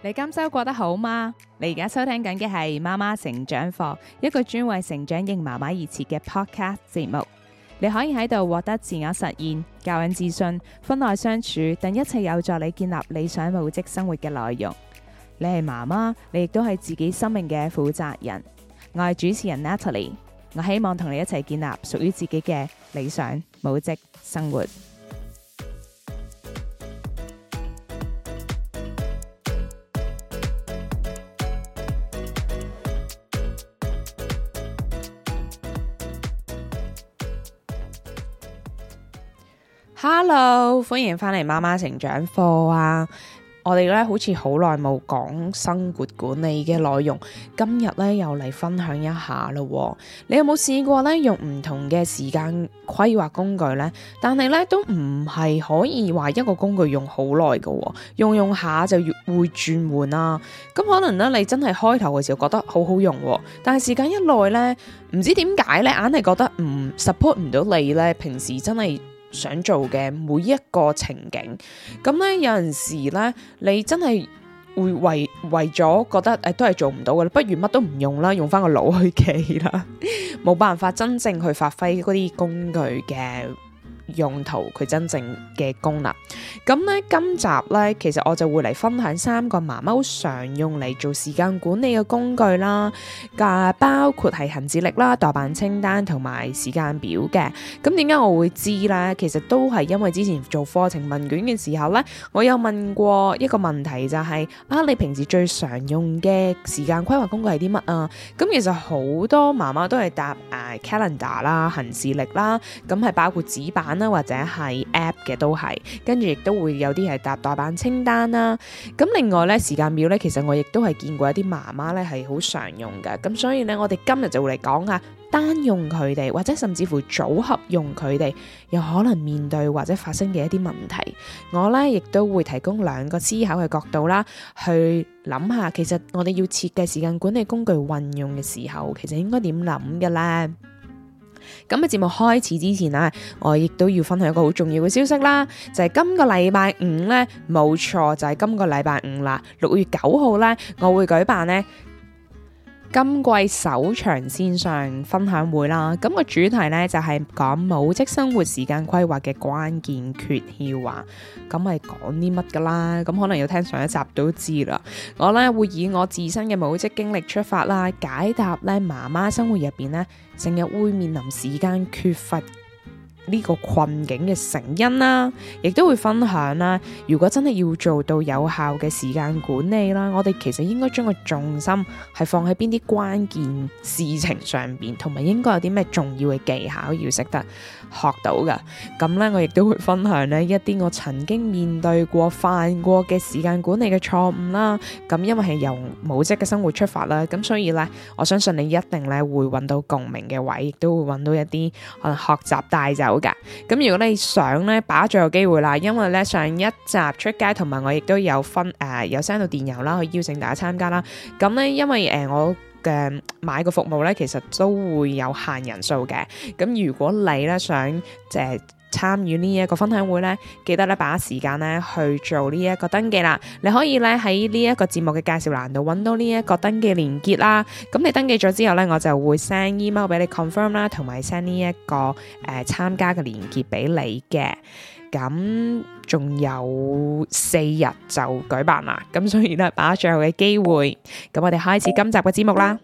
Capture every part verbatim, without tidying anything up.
你今周過得好嗎？你而家收聽緊嘅係媽媽成長課，一個專為成長型媽媽而設嘅 podcast 節目。你可以喺度獲得自我實現、教養自信、婚內相處等一切有助你建立理想母職生活嘅內容。你係媽媽，你亦都係自己生命嘅負責人。我係主持人 Natalie， 我希望同你一齊建立屬於自己嘅理想母職生活。Hello， 歡迎返嚟媽媽成長課啊！我哋咧好似好耐冇講生活管理嘅內容，今日咧又嚟分享一下咯。你有冇試過咧用唔同嘅時間規劃工具呢？但係咧都唔係可以話一個工具用好耐嘅，用用下就越會轉換啦。咁可能咧你真係開頭嘅時候覺得好好用，但係時間一耐咧，唔知點解咧，硬係覺得唔 support 唔到你咧，平時真係想做嘅每一個情景，咁咧有陣時咧，你真係會為為咗覺得誒、哎、都係做唔到嘅，不如乜都唔用啦，用翻個腦去記啦，冇辦法真正去發揮嗰啲工具嘅用途，佢真正嘅功能。咁咧今集咧，其實我就會嚟分享三個媽媽好常用嚟做時間管理嘅工具啦，嘅包括係行事曆啦、待辦清單同埋時間表嘅。咁點解我會知咧？其實都係因為之前做課程問卷嘅時候咧，我有問過一個問題，就係、是、啊，你平時最常用嘅時間規劃工具係啲乜啊？咁其實好多媽媽都係答誒、呃、calendar 啦、行事曆啦，咁係包括紙版啦或者係 app 嘅都係，跟住亦都會有啲係答待辦清單啦。咁另外咧時間表咧，其實我亦都係見過一啲媽媽咧係好常用嘅。咁所以咧，我哋今日就會嚟講下單用佢哋，或者甚至乎組合用佢哋，有可能面對或者發生嘅一啲問題。我咧亦都會提供兩個思考嘅角度啦，去諗下其實我哋要設計時間管理工具運用嘅時候，其實應該點諗嘅咧？咁喺節目開始之前啊，我亦都要分享一個好重要嘅消息啦，就係今個禮拜五咧，冇錯就係今個禮拜五啦，六月九號咧，我會舉辦咧今季首場線上分享會啦。咁個主題咧就係講母職生活時間規劃嘅關鍵訣竅啊。咁係講啲乜噶啦？咁可能要聽上一集都知啦。我咧會以我自身嘅母職經歷出發啦，解答咧媽媽生活入邊咧成日會面臨時間缺乏呢個困境嘅成因啦，亦都會分享啦。如果真係要做到有效嘅時間管理啦，我哋其實應該將個重心係放喺邊啲關鍵事情上邊，同埋應該有啲咩重要嘅技巧要識得學到㗎。咁咧，我亦都會分享呢一啲我曾經面對過、犯過嘅時間管理嘅錯誤啦。咁因為係由母職嘅生活出發啦，咁所以咧，我相信你一定咧會揾到共鳴嘅位，亦都會揾到一啲可能學習帶走。咁如果你想咧把握最後機會啦，因為咧上一集出街，同埋我亦都有分誒、呃、有 send 到電郵啦，去邀請大家參加啦。咁咧因為誒、呃、我嘅買個服務咧，其實都會有限人數嘅。咁如果你咧想即係參與呢一個分享會咧，記得咧把握時間咧去做呢一個登記啦。你可以咧喺呢一個節目嘅介紹欄度揾到呢一個登記連結啦。咁你登記咗之後咧，我就會 send email 俾你 confirm 啦，同埋 send 呢一個誒參加嘅連結俾你嘅。咁仲有四日就舉辦啦，咁所以咧把握最後嘅機會。咁我哋開始今集嘅節目啦。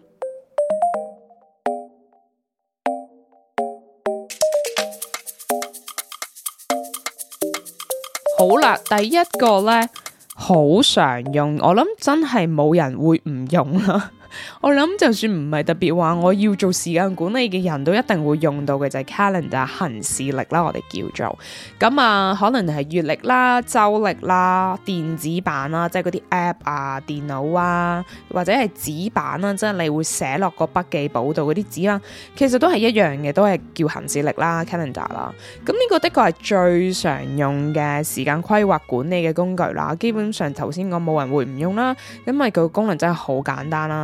好啦，第一個咧好常用，我諗真係冇人會唔用啦。我諗就算唔係特別話我要做時間管理嘅人都一定會用到嘅，就係 calendar 行事曆啦，我哋叫做咁啊，可能係月曆啦、周曆啦、電子版啦，即係嗰啲 app 啊、電腦啊，或者係紙版啦，即係你會寫落個筆記簿度嗰啲紙啦，其實都係一樣嘅，都係叫行事曆啦、calendar 啦。咁呢個的確係最常用嘅時間規劃管理嘅工具啦。基本上頭先我冇人會唔用啦，因為佢個功能真係好簡單啦。咁就係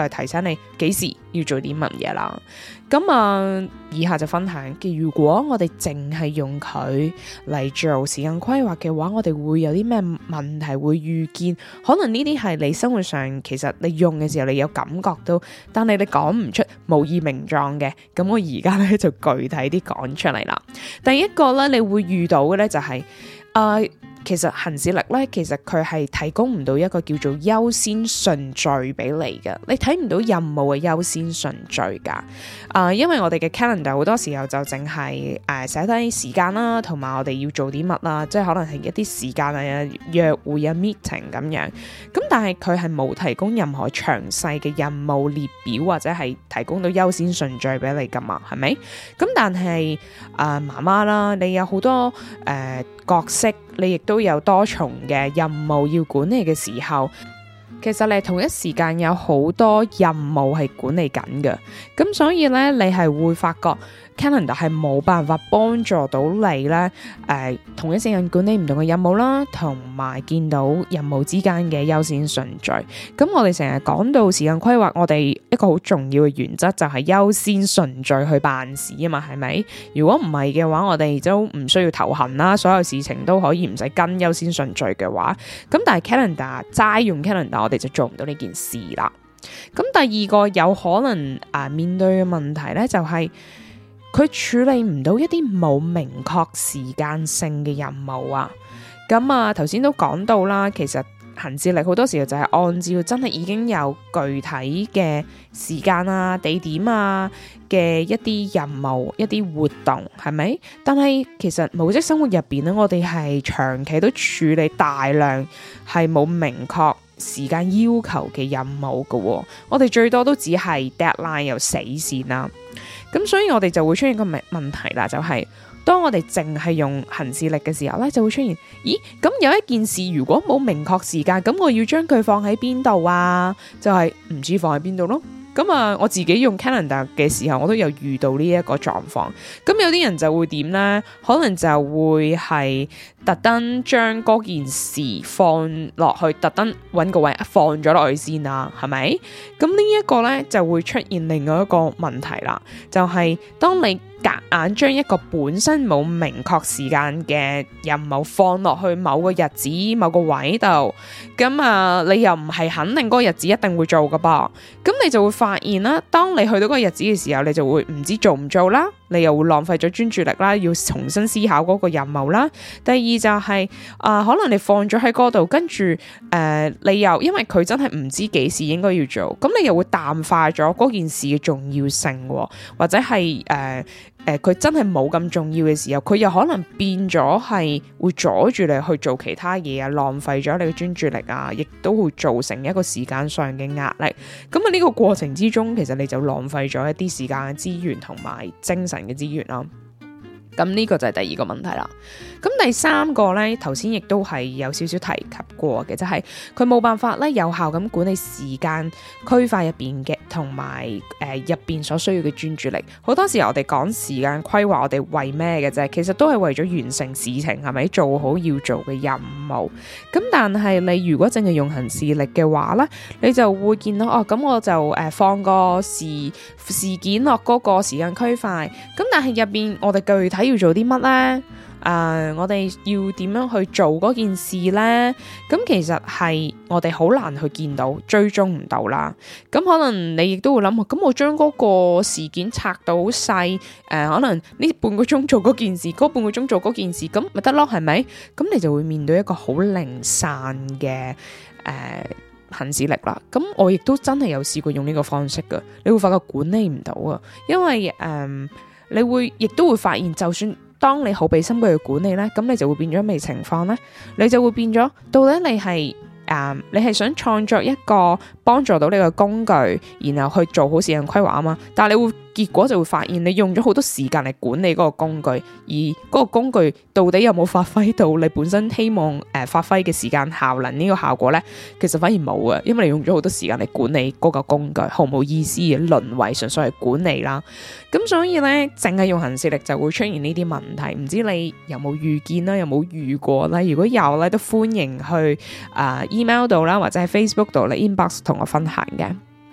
提醒你幾時要做啲乜嘢啦。咁啊，以下就分享嘅，如果我哋淨係用佢嚟做時間規劃嘅話，我哋會有啲咩問題會預見？可能呢啲係你生活上其實你用嘅時候你有感覺到，但係你講唔出，無以名狀嘅。咁我而家咧就具體啲講出嚟啦。第一個咧，你會遇到嘅咧就係、是、誒。呃其實行事曆咧，其實佢係提供唔到一個叫做優先順序俾你嘅，你睇唔到任務嘅優先順序噶。啊、呃，因為我哋嘅 calendar 好多時候就淨係誒寫低時間啦，同埋我哋要做啲乜啦，即係可能係一啲時間啊、約會啊、meeting 咁樣。咁但係佢係冇提供任何詳細嘅任務列表，或者係提供到優先順序俾你噶嘛，係咪？咁但係啊媽媽啦，你有好多誒、呃、角色。你亦都有多重嘅任務要管理嘅時候，其實你同一時間有好多任務係管理緊嘅，咁所以咧你係會發覺 calendar 係冇辦法幫助到你咧，誒、呃、同一時間管理唔同嘅任務啦，同埋見到任務之間嘅優先順序。咁我哋成日講到時間規劃，我哋一個好重要嘅原則就係優先順序去辦事啊嘛，係咪？如果唔係嘅話，我哋都唔需要頭痕啦，所有事情都可以唔使跟優先順序嘅話，咁但係 calendar 齋用 calendar，我哋就做唔到呢件事啦。咁第二個有可能啊、呃、面對嘅問題咧，就係、是。佢處理唔到一啲冇明確時間性嘅任務啊，咁啊頭先都講到啦，其實行事曆好多時候就係按照真係已經有具體嘅時間啊、地點啊嘅一啲任務、一啲活動，係咪？但係其實母職生活入邊咧，我哋係長期都處理大量係冇明確時間要求嘅任務㗎喎，我哋最多都只係 deadline 有死線啦。咁所以我哋就會出現個問問題啦，就係、是、當我哋淨係用行事曆嘅時候咧，就會出現，咦？咁有一件事如果冇明確時間，咁我要將佢放喺邊度啊？就係唔知放喺邊度咯。咁啊，我自己用 calendar 嘅時候，我都有遇到呢一個狀況。咁有啲人就會點呢？可能就會係特登將嗰件事放落去，特登揾個位放咗落去先啦，係咪？咁呢一個呢，就會出現另外一個問題啦，就係、是、當你夾硬將一個本身冇明確時間嘅任務放落去某個日子、某個位度，咁啊，你又唔係肯定嗰個日子一定會做噶噃，咁你就會發現啦，當你去到嗰個日子嘅時候，你就會唔知做唔做啦，你又會浪費咗專注力啦，要重新思考嗰個任務啦。第二就係、是、啊、呃，可能你放咗喺嗰度，跟住誒、呃，你又因為佢真係唔知幾時應該要做，咁你又會淡化咗嗰件事嘅重要性，或者係誒。呃誒，佢、呃、真係冇咁重要嘅時候，佢又可能變咗係會阻住你去做其他嘢啊，浪費咗你嘅專注力啊，亦都會造成一個時間上嘅壓力。咁啊，呢個過程之中，其實你就浪費咗一啲時間嘅資源同埋精神嘅資源啦。咁呢個就係第二個問題啦。咁第三個咧，頭先亦都係有少少提及過嘅，就係佢冇辦法咧有效咁管理時間區塊入邊嘅同埋誒入邊所需要嘅專注力。好多時候我哋講時間規劃，我哋為咩嘅啫？其實都係為咗完成事情，係咪做好要做嘅任務？咁但係你如果淨係用行事曆嘅話咧，你就會見到哦，咁我就誒、呃、放個時事件落嗰個時間區塊。咁但係入邊我哋具體要做啲乜咧？誒、呃，我哋要點樣去做嗰件事呢？咁其實係我哋好難去見到，追蹤唔到啦。咁可能你亦都會諗，咁我將嗰個事件拆到好細，誒、呃，可能呢半個鐘做嗰件事，嗰半個鐘做嗰件事，咁咪得咯，係咪？咁你就會面對一個好零散嘅誒、呃、行事曆啦。咁我亦都真係有試過用呢個方式噶，你會發覺管理唔到啊，因為誒、呃，你會亦都會發現，就算當你好俾心機去管理咧，咁你就會變咗咩情況咧？你就會變咗，到底你係誒、呃，你係想創作一個幫助到你嘅工具，然後去做好時間規劃啊嘛？但係你會結果就會發現，你用咗好多時間嚟管理嗰個工具，而嗰個工具到底有冇發揮到你本身希望誒、呃、發揮嘅時間效能呢個效果咧？其實反而冇啊，因為你用咗好多時間嚟管理嗰個工具，毫無意思嘅，淪為純粹係管理啦。咁所以咧，淨係用行事曆就會出現呢啲問題。唔知你有冇遇見啦？有冇遇過咧？如果有咧，都歡迎去啊、呃、email 度啦，或者喺 Facebook 度嚟 inbox 同我分享嘅。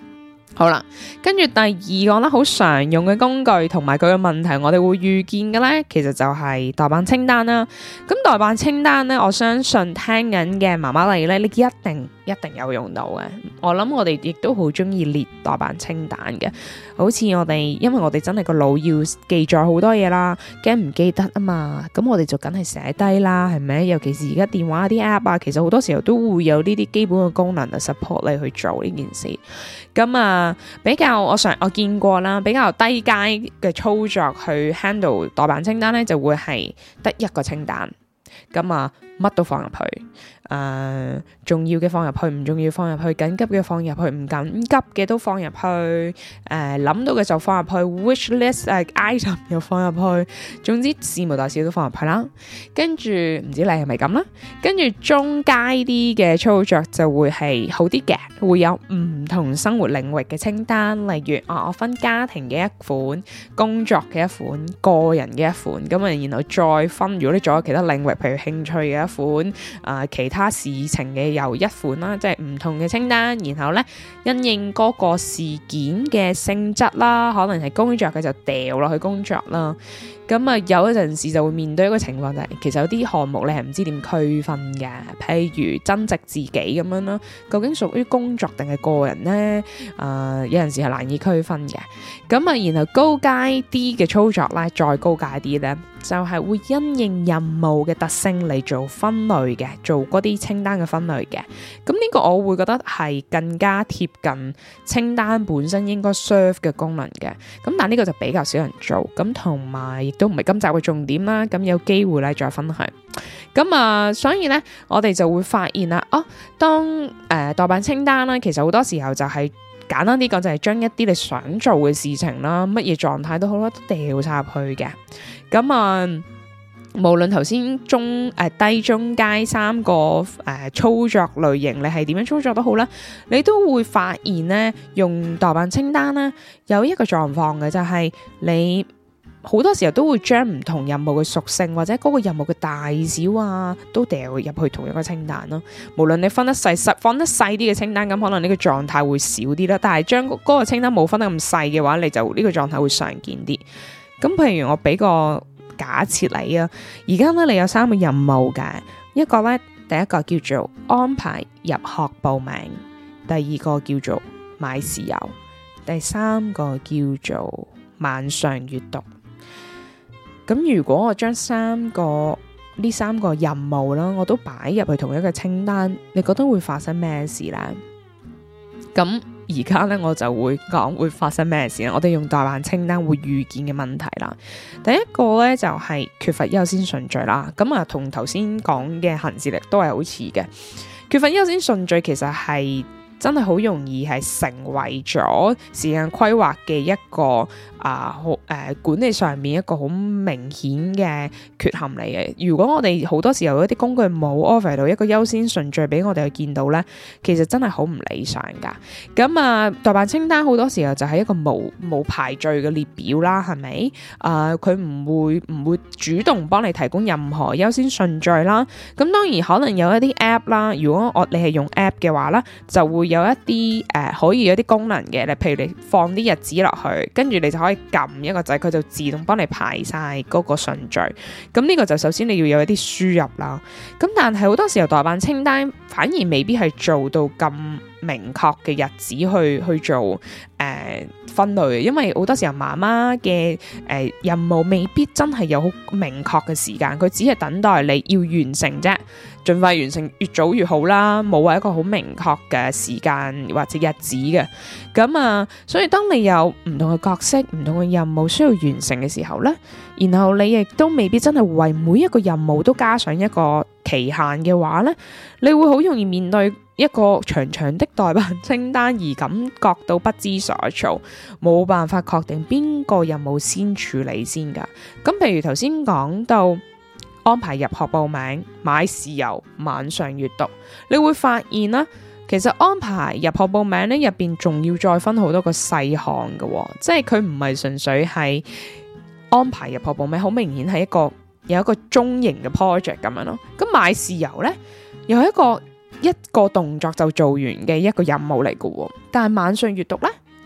好啦，跟住第二個咧，好常用嘅工具同埋佢嘅問題，我哋會遇見嘅咧，其實就係待辦清單啦。咁待辦清單咧，我相信聽緊嘅媽媽你咧，你一定一定有用到嘅。我諗我哋亦都好中意列待辦清單嘅，好似我哋，因為我哋真係個腦要記載好多嘢啦，驚唔記得啊嘛，咁我哋就梗係寫低啦，係咪？尤其是而家電話啲 app 啊，其實好多時候都會有呢啲基本嘅功能啊 support 你去做呢件事。咁啊，比較我上我見過啦，比較低階嘅操作去 handle 待辦清單咧，就會係得一個清單，咁啊乜都放入去。誒、呃，重要嘅放入去，唔重要放入去，緊急嘅放入去，唔緊急嘅都放入去。誒、呃，諗到嘅就放入去 ，wish list 誒、uh, item 又放入去。總之事無大小都放入去啦。跟住唔知你係咪咁啦？跟住中階啲嘅操作就會係好啲嘅，會有唔同生活領域嘅清單，例如啊，我分家庭嘅一款、工作嘅一款、個人嘅一款，咁啊，然後再分。如果你仲有其他領域，譬如興趣嘅一款，啊、呃，其他。他事情嘅又一款啦，即係唔同嘅清單，然後咧因應嗰個事件嘅性質啦，可能係工作嘅就掉落去工作啦。咁啊，有一陣時就會面對一個情況，就係其實有啲項目你係唔知點區分嘅，譬如增值自己咁樣啦，究竟屬於工作定係個人呢？啊、呃，有陣時係難以區分嘅。咁啊，然後高階啲嘅操作咧，再高階啲咧，就係、是、會因應任務嘅特性嚟做分類嘅，做嗰啲清單嘅分類嘅。咁呢個我會覺得係更加貼近清單本身應該 serve 嘅功能嘅。咁但係呢個就比較少人做，咁同埋亦都唔係今集嘅重點啦。咁有機會咧再分享。咁啊，所以咧我哋就會發現啦，哦，當誒、呃、待辦清單啦，其實好多時候就係、是。簡單啲講就係將一啲你想做嘅事情啦，乜嘢狀態都好啦，都掉晒入去嘅。咁啊，無論頭先中誒、呃、低中階三個誒、呃、操作類型，你係點樣操作都好啦，你都會發現咧，用待辦清單咧有一個狀況嘅，就係、是、你。好多時候都會將唔同任務嘅屬性或者嗰個任務嘅大小啊，都掉入去同一個清單咯。無論你分得細細放得細啲嘅清單，咁可能呢個狀態會少啲啦。但係將嗰個清單冇分得咁細嘅話，你就呢個狀態會常見啲。咁譬如我俾個假設你啊，而家咧你有三個任務嘅，一個咧第一個叫做安排入學報名，第二個叫做買豉油，第三個叫做晚上閱讀。咁如果我將三個呢三個任務啦，我都擺入去同一個清單，你覺得會發生咩事呢？咁而家咧我就會講會發生咩事啦。我哋用待辦清單會遇見嘅問題啦。第一個咧就係、是、缺乏優先順序啦。咁啊，同頭先講嘅行事曆都係好似嘅。缺乏優先順序其實係真係好容易係成為咗時間規劃嘅一個啊，好誒、呃、管理上面一個好明顯嘅缺陷嚟嘅。如果我哋好多時候一啲工具冇 offer 到一個優先順序俾我哋去見到咧，其實真係好唔理想噶。咁啊，待辦清單好多時候就係一個冇冇排序嘅列表啦，係咪？啊、呃，佢唔會唔會主動幫你提供任何優先順序啦。咁當然可能有一啲 app 啦，如果我你係用 app 嘅話咧，就會有一啲誒、呃、可以有啲功能嘅，你譬如你放啲日子落去，跟住你就可以撳一個掣，佢就自動幫你排晒嗰個順序。咁呢個就首先你要有一啲輸入啦。咁但係好多時候待辦清單反而未必係做到咁明確嘅日子去去做誒、呃、分類，因為好多時候媽媽嘅誒任務未必真係有好明確嘅時間，佢只係等待你要完成啫，盡快完成，越早越好啦，冇話一個好明確嘅時間或者日子嘅。咁啊，所以當你有唔同嘅角色、唔同嘅任務需要完成嘅時候咧，然後你亦都未必真係為每一個任務都加上一個期限嘅話咧，你會好容易面對一個長長的待辦清單而感覺到不知所措，冇辦法確定邊個任務先處理先噶。咁譬如頭先講到安排入學報名、買豉油、晚上閱讀，你會發現啦，其實安排入學報名咧入邊仲要再分好多個細項嘅，即係佢唔係純粹係安排入學報名，好明顯係一個有一個中型嘅 project 咁樣咯。咁買豉油咧又係一個一個動作就做完嘅一個任務嚟嘅，但係晚上閱讀咧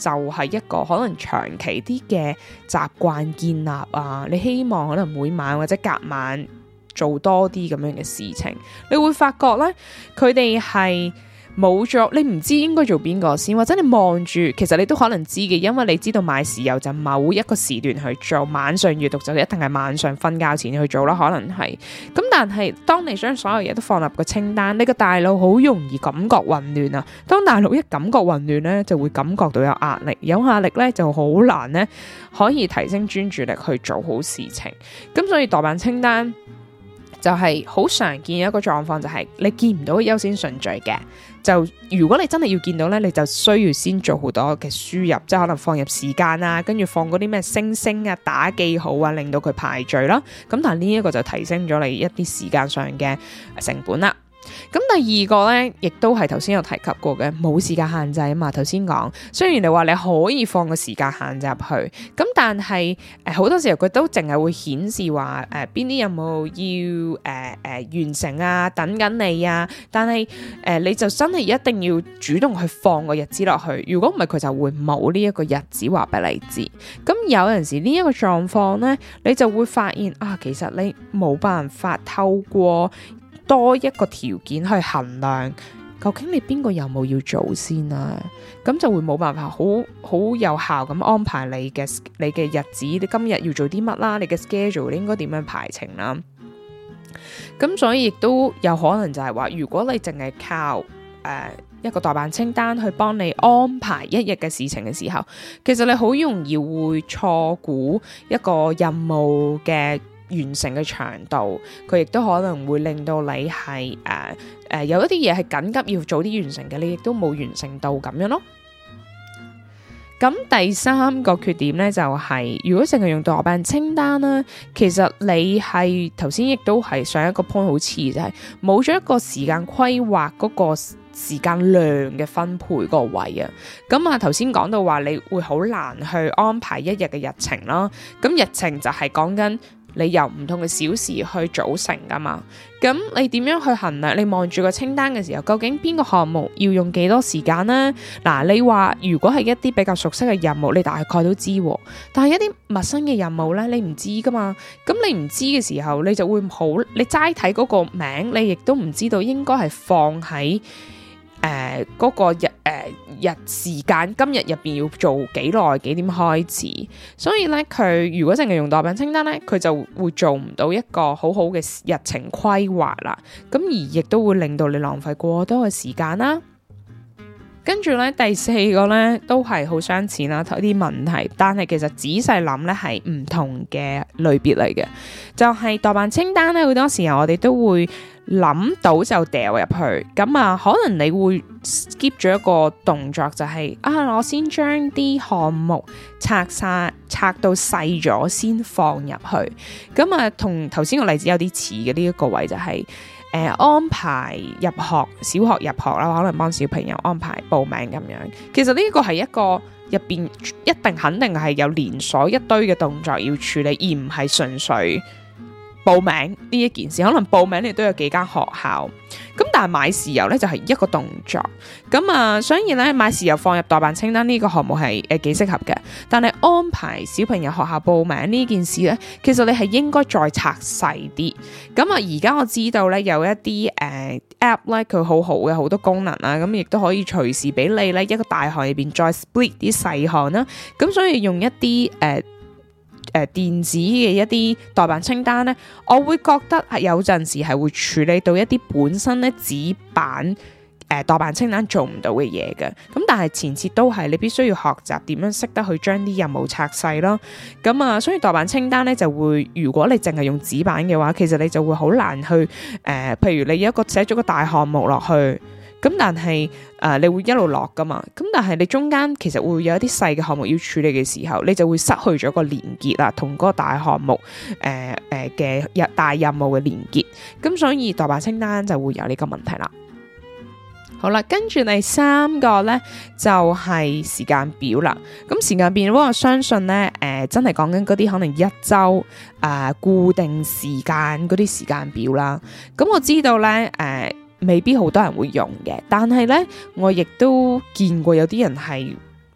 就係一個可能長期啲嘅習慣建立啊，你希望可能每晚或者隔晚做多啲咁樣嘅事情，你會發覺咧，佢哋係冇咗，你唔知應該做邊個先，或者你望住，其實你都可能知嘅，因為你知道買豉油就某一個時段去做，晚上閱讀就一定係晚上瞓覺前去做啦，可能係。咁但係當你將所有嘢都放入個清單，你個大腦好容易感覺混亂啊。當大腦一感覺混亂咧，就會感覺到有壓力，有壓力咧就好難咧可以提升專注力去做好事情。咁所以待辦清單就係好常見一個狀況，就係你見唔到優先順序嘅。就如果你真係要見到咧，你就需要先做好多嘅輸入，即係可能放入時間啊，跟住放嗰啲咩星星啊、打記號啊，令到佢排序啦。咁但係呢一個就提升咗你一啲時間上嘅成本啦。咁第二個咧，亦都係頭先有提及過嘅，冇時間限制啊嘛。頭先講，雖然你話你可以放個時間限制入去，咁但係誒好多時候佢都淨係會顯示話誒邊啲任務要誒誒、呃呃、完成啊，等緊你啊。但係誒、呃、你就真係一定要主動去放個日子落去，如果唔係佢就會冇呢一個日子話俾你知。咁有陣時呢一個狀況咧，你就會發現啊，其實你冇辦法透過多一個條件去衡量，究竟你邊個任務要做先啊？咁就會冇辦法好好有效咁安排你嘅你嘅日子，你今日要做啲乜啦？你嘅 schedule 你應該點樣排程啦？咁所以亦都有可能就係話，如果你淨係靠誒、呃、一個待辦清單去幫你安排一日嘅事情嘅時候，其實你好容易會錯估一個任務嘅完成嘅長度，佢亦都可能會令到你係誒誒有一啲嘢係緊急要早啲完成嘅，你亦都冇完成到咁樣咯。咁第三個缺點咧就係、是，如果淨係用待辦清單啦，其實你係頭先亦都係上一個 point 好似就係冇咗一個時間規劃嗰個時間量嘅分配嗰個位啊。咁啊頭先講到話你會好難去安排一日嘅日程啦，咁日程就係講緊你由唔同嘅小時去組成噶嘛，咁你點樣去衡量？你望住個清單嘅時候，究竟邊個項目要用幾多時間呢？嗱，你話如果係一啲比較熟悉嘅任務，你大概都知，但係一啲陌生嘅任務咧，你唔知噶嘛。咁你唔知嘅時候，你就會好，你齋睇嗰個名，你亦都唔知道應該係放喺誒，嗰、呃那個日誒、呃、日時間今日入邊要做幾耐幾點開始，所以咧佢如果淨係用待辦清單咧，佢就會做唔到一個好好嘅日程規劃啦，咁而亦都會令到你浪費過多嘅時間啦。跟住咧第四個咧都係好相似啦，睇啲問題，但係其實仔細諗咧係唔同嘅類別嚟嘅，就係、是、待辦清單咧好多時候我哋都會諗到就掉入去，咁啊可能你會 skip 咗一個動作，就係、是、啊我先將啲項目拆晒拆到細咗先放入去，咁啊同頭先個例子有啲似嘅呢一個位就係、是。誒、呃、安排入學，小學入學啦，可能幫小朋友安排報名咁樣。其實呢個係一個入邊一定肯定係有連鎖一堆嘅動作要處理，而唔係純粹報名呢一件事。可能報名你都有幾間學校，咁但係買豉油咧就係、是、一個動作。咁啊，所以咧買豉油放入待辦清單呢個項目係誒幾適合嘅。但係安排小朋友學校報名呢件事咧，其實你係應該再拆細啲。咁啊，而家我知道咧有一啲誒、呃、app 咧，佢好好嘅好多功能啦，咁亦都可以隨時俾你咧一個大項入邊再 split 啲細項啦。咁所以用一啲誒。呃誒、呃，電子嘅一啲待辦清單咧，我會覺得係有陣時係會處理到一啲本身咧紙版誒待辦清單做唔到嘅嘢嘅。咁但係前設都係你必須要學習點樣識得去將啲任務拆細咯。咁啊，所以待辦清單咧就會，如果你淨係用紙版嘅話，其實你就會好難去誒、呃，譬如你有一個寫咗個大項目落去。咁但係誒、呃，你會一路落噶嘛？咁但係你中間其實會有一啲細嘅項目要處理嘅時候，你就會失去咗個連結啦，同嗰個大項目誒誒嘅日大任務嘅連結。咁所以待辦清單就會有呢個問題啦。好啦，跟住第三個咧就係、是、時間表啦。咁時間表，我相信咧誒、呃，真係講緊嗰啲可能一周誒、呃、固定時間嗰啲時間表啦。咁我知道咧誒。呃未必好多人會用嘅，但係咧，我亦都見過有啲人係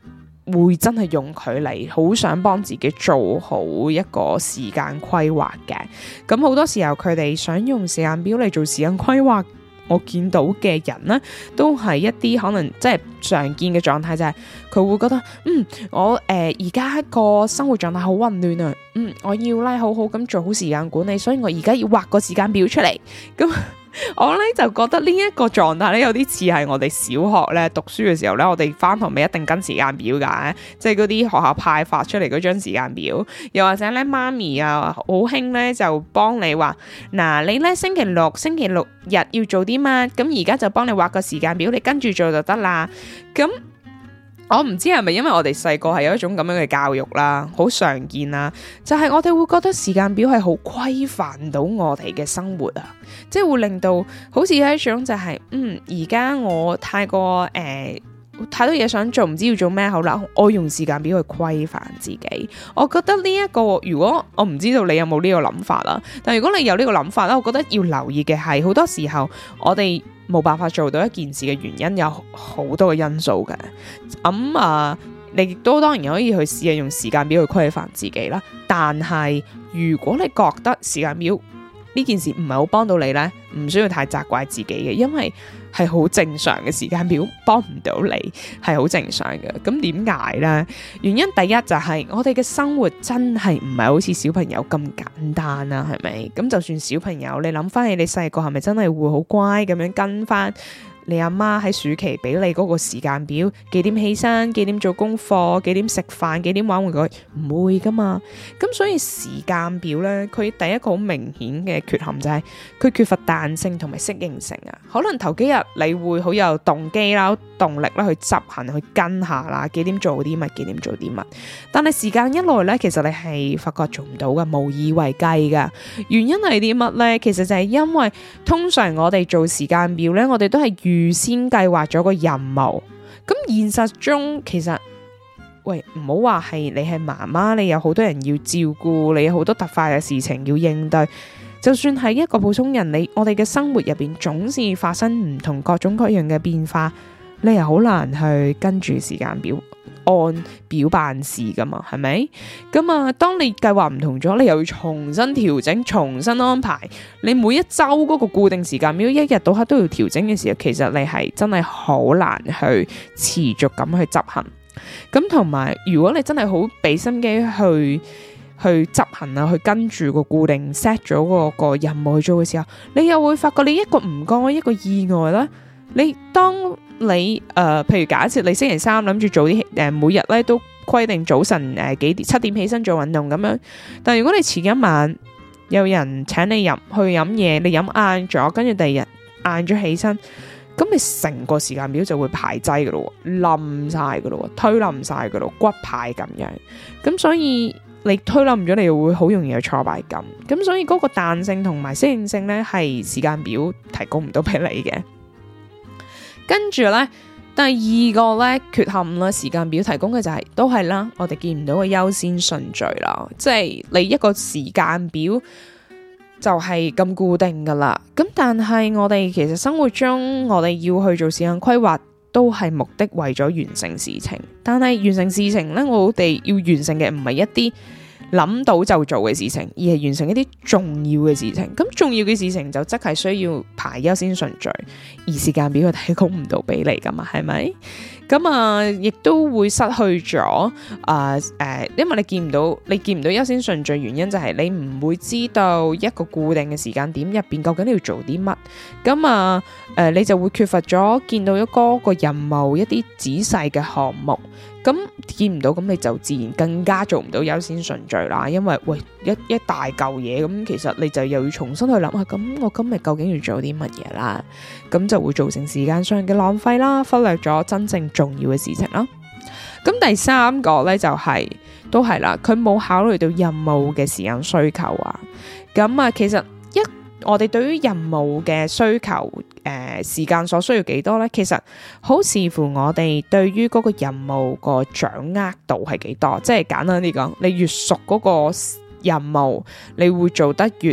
會真係用佢嚟好想幫自己做好一個時間規劃嘅。咁好多時候佢哋想用時間表嚟做時間規劃，我見到嘅人呢，都係一啲可能即係常見嘅狀態，就係佢會覺得嗯我誒而家個生活狀態好混亂啊，嗯我要咧好好咁做好時間管理，所以我而家要畫個時間表出嚟。咁我咧就覺得呢一個狀態咧有啲似係我哋小學咧讀書嘅時候咧，我哋翻學咪一定跟時間表噶，即係嗰啲學校派發出嚟嗰張時間表，又或者咧媽咪啊好興咧就幫你話嗱，你咧星期六星期六日要做啲乜，咁而家就幫你畫個時間表，你跟住做就得啦。咁我唔知係咪因為我哋細個係有一種咁樣嘅教育啦，好常見啦，就係我哋會覺得時間表係好規範到我哋嘅生活啊，即係會令到好似有一種就係嗯而家我太過誒太多嘢想做，唔知要做咩好啦，我用時間表去規範自己。我覺得呢一個，如果我唔知道你有冇呢個諗法啦，但如果你有呢個諗法咧，我覺得要留意嘅係好多時候我哋冇辦法做到一件事嘅原因有好多嘅因素嘅。咁啊，你亦都當然可以去試下用時間表去規範自己啦。但係如果你覺得時間表呢件事唔係好幫到你呢，唔需要太責怪自己嘅，因為係好正常嘅，時間表幫唔到你係好正常嘅。咁點解呢？原因第一就係我哋嘅生活真係唔係好似小朋友咁簡單啦，係咪？咁就算小朋友，你諗翻起你細個係咪真係會好乖咁樣跟翻你阿媽喺暑期俾你嗰個時間表，幾點起身，幾點做功課，幾點食飯，幾點玩玩具，唔會噶嘛。咁所以時間表咧，佢第一個好明顯嘅缺陷就係佢缺乏彈性同埋適應性啊。可能頭幾日你會好有動機啦、動力啦去執行、去跟下啦，幾點做啲乜，幾點做啲乜。但係時間一耐咧，其實你係發覺做唔到噶，無以為繼噶。原因係啲乜咧？其實就係因為通常我哋做時間表咧，我哋都係預先計劃咗個任務，咁現實中其實，喂，唔好話係你係媽媽，你有好多人要照顧，你有好多突發嘅事情要應對，就算係一個普通人，你我哋嘅生活入邊總是發生唔同各種各樣嘅變化，你又好難去跟住時間表按表辦事噶嘛，係咪？咁啊，當你計劃唔同咗，你又要重新調整、重新安排。你每一周嗰個固定時間表，一日到黑都要調整嘅時候，其實你係真係好難去持續咁去執行。咁同埋，如果你真係好俾心機去去執行啊，去跟住個固定 set 咗嗰個任務去做嘅時候，你又會發覺你一個唔該一個意外啦。你當你誒、呃，譬如假設你星期三諗住做啲誒、呃，每日咧都規定早晨誒、呃、幾點七點起身做運動咁樣，但係如果你前一晚有人請你入去飲嘢，你飲晏咗，跟住第二日晏咗起身，咁你成個時間表就會排擠噶咯，冧晒噶咯，推冧晒噶咯，骨牌咁樣。咁所以你推冧咗，你又會好容易有挫敗感。咁所以嗰個彈性同埋適應性咧，係時間表提供唔到俾你嘅。跟住咧，第二個咧缺陷啦，時間表提供嘅就係、是、都係啦，我哋見唔到嘅優先順序啦，即係你一個時間表就係咁固定噶啦。咁但係我哋其實生活中，我哋要去做時間規劃，都係目的為咗完成事情。但係完成事情咧，我哋要完成嘅唔係一啲諗到就做嘅事情，而係完成一啲重要嘅事情。咁重要嘅事情就即係需要排優先順序，而時間表佢提供唔到俾你噶嘛，係咪？咁啊，亦都會失去咗啊誒，因為你見唔到，你見唔到優先順序，原因就係你唔會知道一個固定嘅時間點入邊究竟你要做啲乜。咁啊誒、呃，你就會缺乏咗見到一個個任務一啲仔細嘅項目。咁見唔到，咁你就自然更加做唔到優先順序啦。因為喂一一大嚿嘢，咁其實你就又要重新去諗下，咁我今日究竟要做啲乜嘢啦？咁就會造成時間上嘅浪費啦，忽略咗真正重要嘅事情啦。咁第三個呢，就係、是、都係啦，佢冇考慮到任務嘅時間需求啊。咁啊，其實一我哋對於任務嘅需求，誒、呃、時間所需要幾多呢？其實好視乎我哋對於嗰個任務個掌握度係幾多。即係簡單啲講，你越熟嗰個任務，你會做得越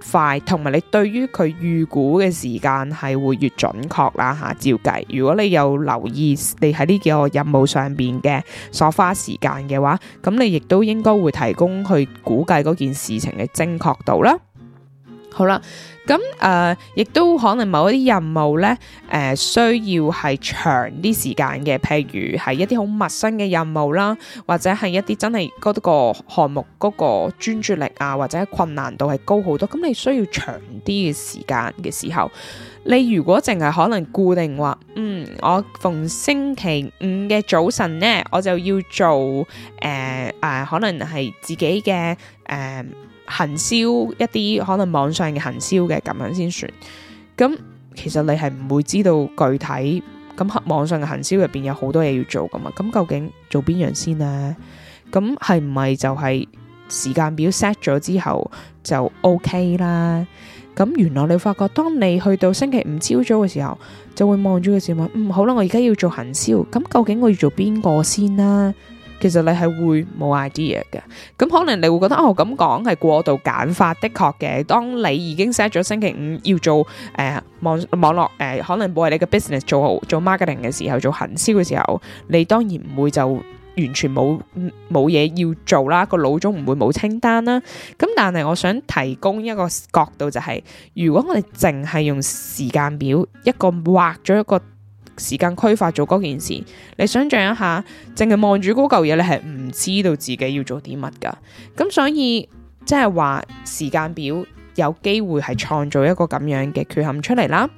快，同埋你對於佢預估嘅時間係會越準確啦吓。照計，如果你有留意你喺呢幾個任務上邊嘅所花時間嘅話，咁你亦都應該會提供去估計嗰件事情嘅精確度啦。好啦，咁誒，亦、呃、都可能某一啲任務咧，誒、呃，需要係長啲時間嘅，譬如係一啲好陌生嘅任務啦，或者係一啲真係嗰個項目嗰個專注力啊，或者困難度係高好多，咁你需要長啲嘅時間嘅時候，你如果淨係可能固定話，嗯，我逢星期五嘅早晨咧，我就要做誒誒、呃呃，可能係自己嘅誒。呃行銷一啲可能網上嘅行銷嘅咁樣先算，咁其實你係唔會知道具體咁網上嘅行銷入邊有好多嘢要做噶嘛，咁究竟做邊樣先呢？咁係唔係就係時間表 set 咗之後就 OK 啦？咁原來你發覺當你去到星期五朝早嘅時候，就會望住個時間，嗯，好啦，我而家要做行銷，咁究竟我要做邊個先啦？其實你係會冇 idea 嘅，咁可能你會覺得哦，咁講係過度簡化，的確嘅。當你已經 set 咗星期五要做誒、呃、網網絡誒、呃，可能為你嘅 business 做好做 marketing 嘅時候，做行銷嘅時候，你當然唔會就完全冇冇嘢要做啦，個腦中唔會冇清單啦。咁但係我想提供一個角度就係、是，如果我哋淨係用時間表一個畫咗一個時間規劃做嗰件事，你想象一下，淨係望住嗰嚿嘢，你係唔知道自己要做啲乜噶。咁所以即係話時間表有機會係創造一個咁樣嘅缺陷出嚟啦。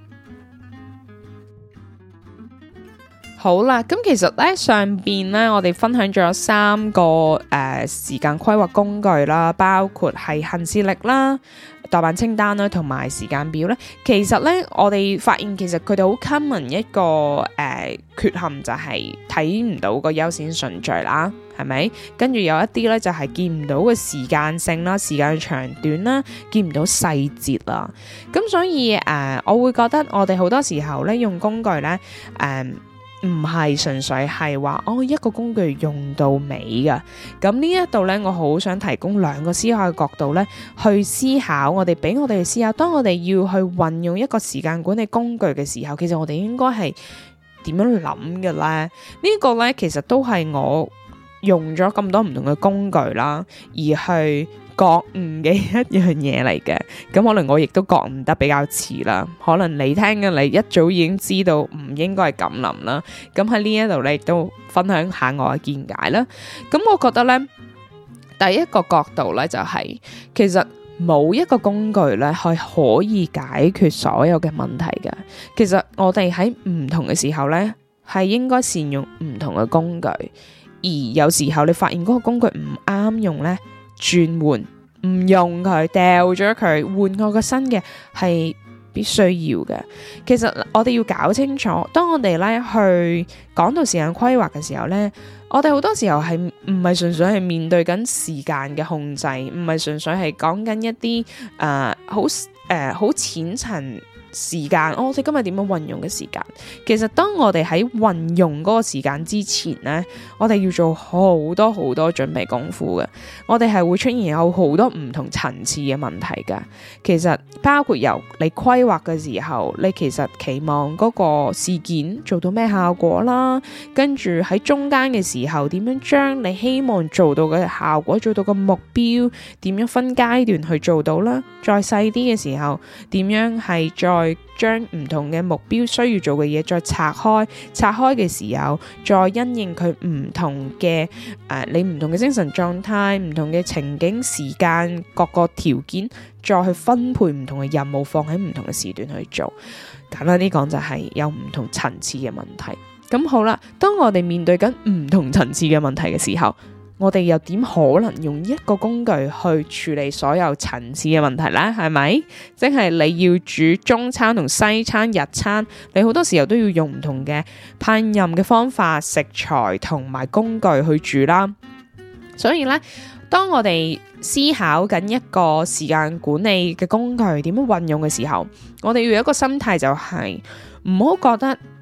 好啦，咁其實咧上邊咧我哋分享咗三個誒、呃、時間規劃工具啦，包括係行事曆啦、待辦清單啦，同埋時間表咧。其實咧我哋發現其實佢哋好 common 一個誒、呃、缺陷就係睇唔到個優先順序啦，係咪？跟住有一啲咧就係、是、見唔到個時間性啦、時間長短啦，見唔到細節啦。咁所以誒、呃，我會覺得我哋好多時候咧用工具咧誒。呃唔係純粹係話哦一個工具用到尾噶，咁呢一度呢，我好想提供兩個思考嘅角度呢，去思考我哋俾我哋思考，當我哋要去運用一個時間管理工具嘅時候，其實我哋應該係點樣諗嘅呢？呢個呢，其實都係我用咗咁多唔同嘅工具啦，而去覺悟嘅一樣嘢嚟嘅，咁可能我亦都覺悟得比較遲啦，可能你聽嘅你一早已經知道唔應該係咁諗啦，咁喺呢一度咧亦都分享下我嘅見解啦。咁我覺得咧，第一個角度咧就係、是，其實冇一個工具咧係可以解決所有嘅問題嘅。其實我哋喺唔同嘅時候咧，係應該善用唔同嘅工具，而有時候你發現嗰個工具唔啱用咧，轉換唔用佢，掉咗佢，換個個新嘅係必須要嘅。其實我哋要搞清楚，當我哋咧去講到時間規劃嘅時候咧，我哋好多時候係唔係純粹係面對緊時間嘅控制，唔係純粹係講緊一啲誒好誒好淺層時間，哦、我哋今日點樣運用嘅時間？其實當我哋喺運用嗰個時間之前呢，我哋要做好多好多準備功夫嘅。我哋係會出現有好多唔同層次嘅問題噶。其實包括由你規劃嘅時候，你其實期望嗰個事件做到咩效果啦，跟住喺中間嘅時候，點樣將你希望做到嘅效果，做到個目標，點樣分階段去做到啦？再細啲嘅時候，點樣係再將唔同嘅目標需要做嘅嘢再拆開，拆開嘅時候再因應佢唔同嘅誒、呃，你唔同嘅精神狀態、唔同嘅情景、時間各個條件，再去分配唔同嘅任務，放喺唔同嘅時段去做。簡單啲講就係有唔同層次嘅問題。咁好啦，當我哋面對緊唔同層次嘅問題嘅時候，我哋又點可能用一個工具去處理所有層次嘅問題呢？係咪？即係你要煮中餐同西餐、日餐，你好多時候都要用唔同嘅烹飪嘅方法、食材同埋工具去煮啦。所以呢，當我哋思考緊一個時間管理嘅工具點樣運用嘅時候，我哋要有一個心態就係唔好覺得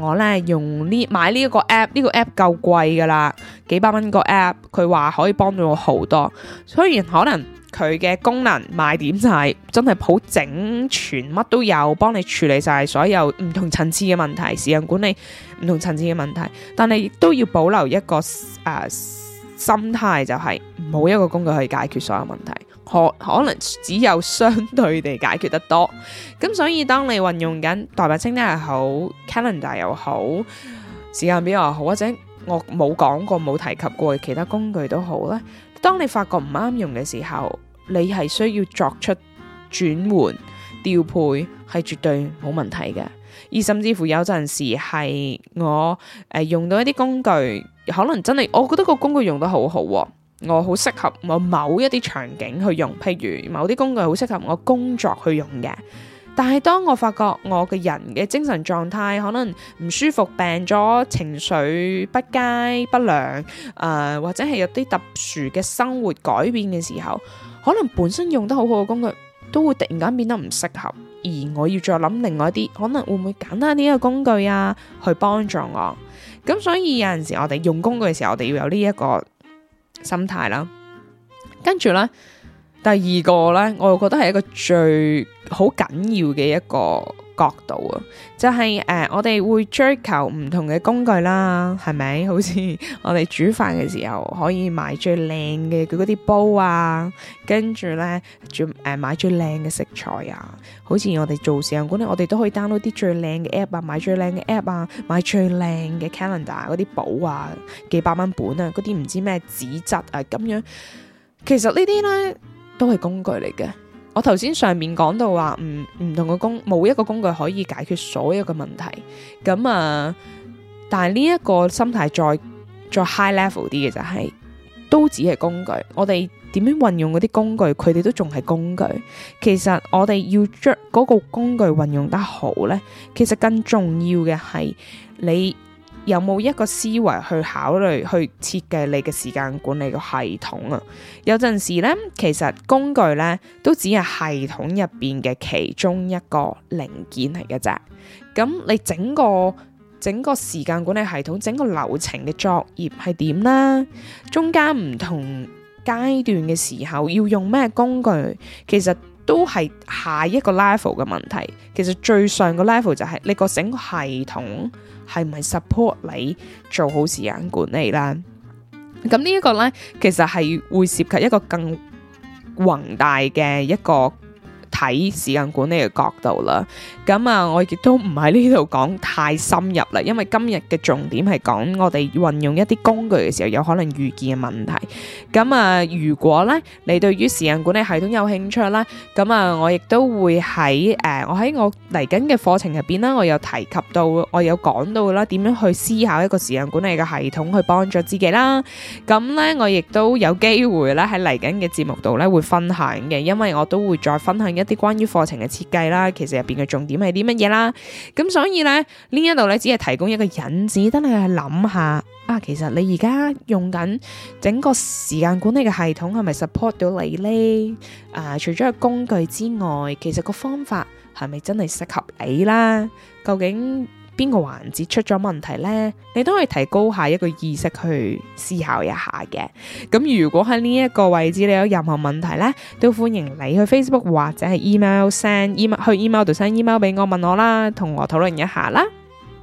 我咧用呢買呢一個 app， 呢個 app 夠貴噶啦，幾百蚊個 app， 佢話可以幫到我好多。雖然可能佢嘅功能賣點就係真係好整全，乜都有，幫你處理晒所有唔同層次嘅問題，時間管理唔同層次嘅問題，但係亦都要保留一個誒、呃、心態，就係冇一個工具可以解決所有問題。可可能只有相對地解決得多，咁所以當你運用緊代辦清單又好 calendar 又好，時間表又好，或者我冇講過冇提及過其他工具都好咧，當你發覺唔啱用嘅時候，你係需要作出轉換調配，係絕對冇問題嘅。而甚至乎有陣時係我誒、呃、用到一啲工具，可能真係我覺得個工具用得好好、啊。我好適合我某一啲場景去用，譬如某啲工具好適合我工作去用嘅。但係當我發覺我嘅人嘅精神狀態可能唔舒服、病咗、情緒不佳、不良，誒、呃、或者係有啲特殊嘅生活改變嘅時候，可能本身用得好好嘅工具都會突然間變得唔適合，而我要再諗另外一啲可能會唔會簡單啲嘅工具啊，去幫助我。咁所以有陣時我哋用工具嘅時候，我哋要有呢一個心態啦，跟住咧，第二個咧，我又覺得係一個最好緊要嘅一個角度啊，就係、是、誒、呃，我哋會追求唔同嘅工具啦，係咪？好似我哋煮飯嘅時候，可以買最靚嘅佢嗰啲煲啊，跟住咧，誒、呃、買最靚嘅食材啊，好似我哋做時間管理，我哋都可以 download 啲最靚嘅 app 啊，買最靚嘅 app 啊，買最靚嘅 calendar 嗰啲簿啊，幾百蚊本啊，嗰啲唔知咩紙質啊，咁樣，其實呢啲咧都係工具嚟嘅。我頭先上面講到話，唔唔同嘅工，冇一個工具可以解決所有嘅問題。咁啊，但係呢一個心態再再 high level 啲嘅就係、是，都只係工具。我哋點樣運用嗰啲工具，佢哋都仲係工具。其實我哋要將嗰個工具運用得好呢，其實更重要嘅係你有冇一個思維去考慮去設計你嘅時間管理嘅系統啊？有陣時咧，其實工具咧都只係系統入邊嘅其中一個零件嚟嘅啫。咁你整個整個時間管理系統，整個流程嘅作業係點啦？中間唔同階段嘅時候要用咩工具，其實都係下一個 level 嘅問題。其實最上個 level 就係你個整個系統係咪 support 你做好時間管理啦？咁呢一個呢，其實係會涉及一個更宏大嘅一個睇時間管理嘅角度啦。咁啊，我亦都唔喺呢度講太深入啦，因為今日嘅重點係講我哋運用一啲工具嘅時候有可能遇見嘅問題。咁啊，如果咧你對於時間管理系統有興趣啦，咁啊，我亦都會喺誒、呃，我喺我嚟緊嘅課程入邊啦，我有提及到，我有講到啦，點樣去思考一個時間管理嘅系統去幫助自己啦。咁咧，我亦都有機會咧喺嚟緊嘅節目度咧會分享嘅，因為我都會再分享一啲關於課程嘅設計啦，其實入邊嘅重點係啲乜嘢啦。咁所以咧呢一度咧只係提供一個引子，等你去諗下啊，其實你而家用緊整個時間管理嘅系統係咪 support 到你呢？啊，除咗個工具之外，其實個方法係咪真係適合你啦？究竟邊個環節出咗問題呢？你都可以提高下一個意識去思考一下嘅。咁如果喺呢一個位置你有任何問題呢，都歡迎你去 Facebook 或者係 email send email 去 email 度 send email 俾我問我啦，同我討論一下啦。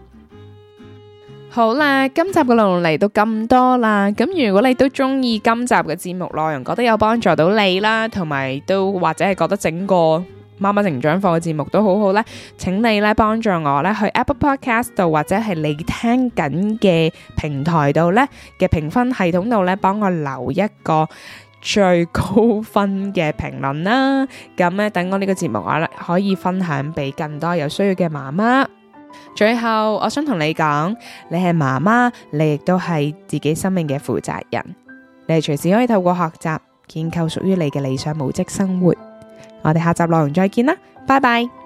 好啦，今集嘅內容嚟到咁多啦。咁如果你都中意今集嘅節目內容，覺得有幫助到你啦，同埋都或者係覺得整個媽媽成長課嘅節目都好好咧，請你咧幫助我咧去 Apple Podcast 度或者係你聽緊嘅平台度咧嘅評分系統度咧，幫我留一個最高分嘅評論啦。咁咧等我呢個節目我咧可以分享俾更多有需要嘅媽媽。最後我想同你講，你係媽媽，你亦都係自己生命嘅負責人，你係隨時可以透過學習建構屬於你嘅理想母職生活。我哋下集內容再見啦，拜拜。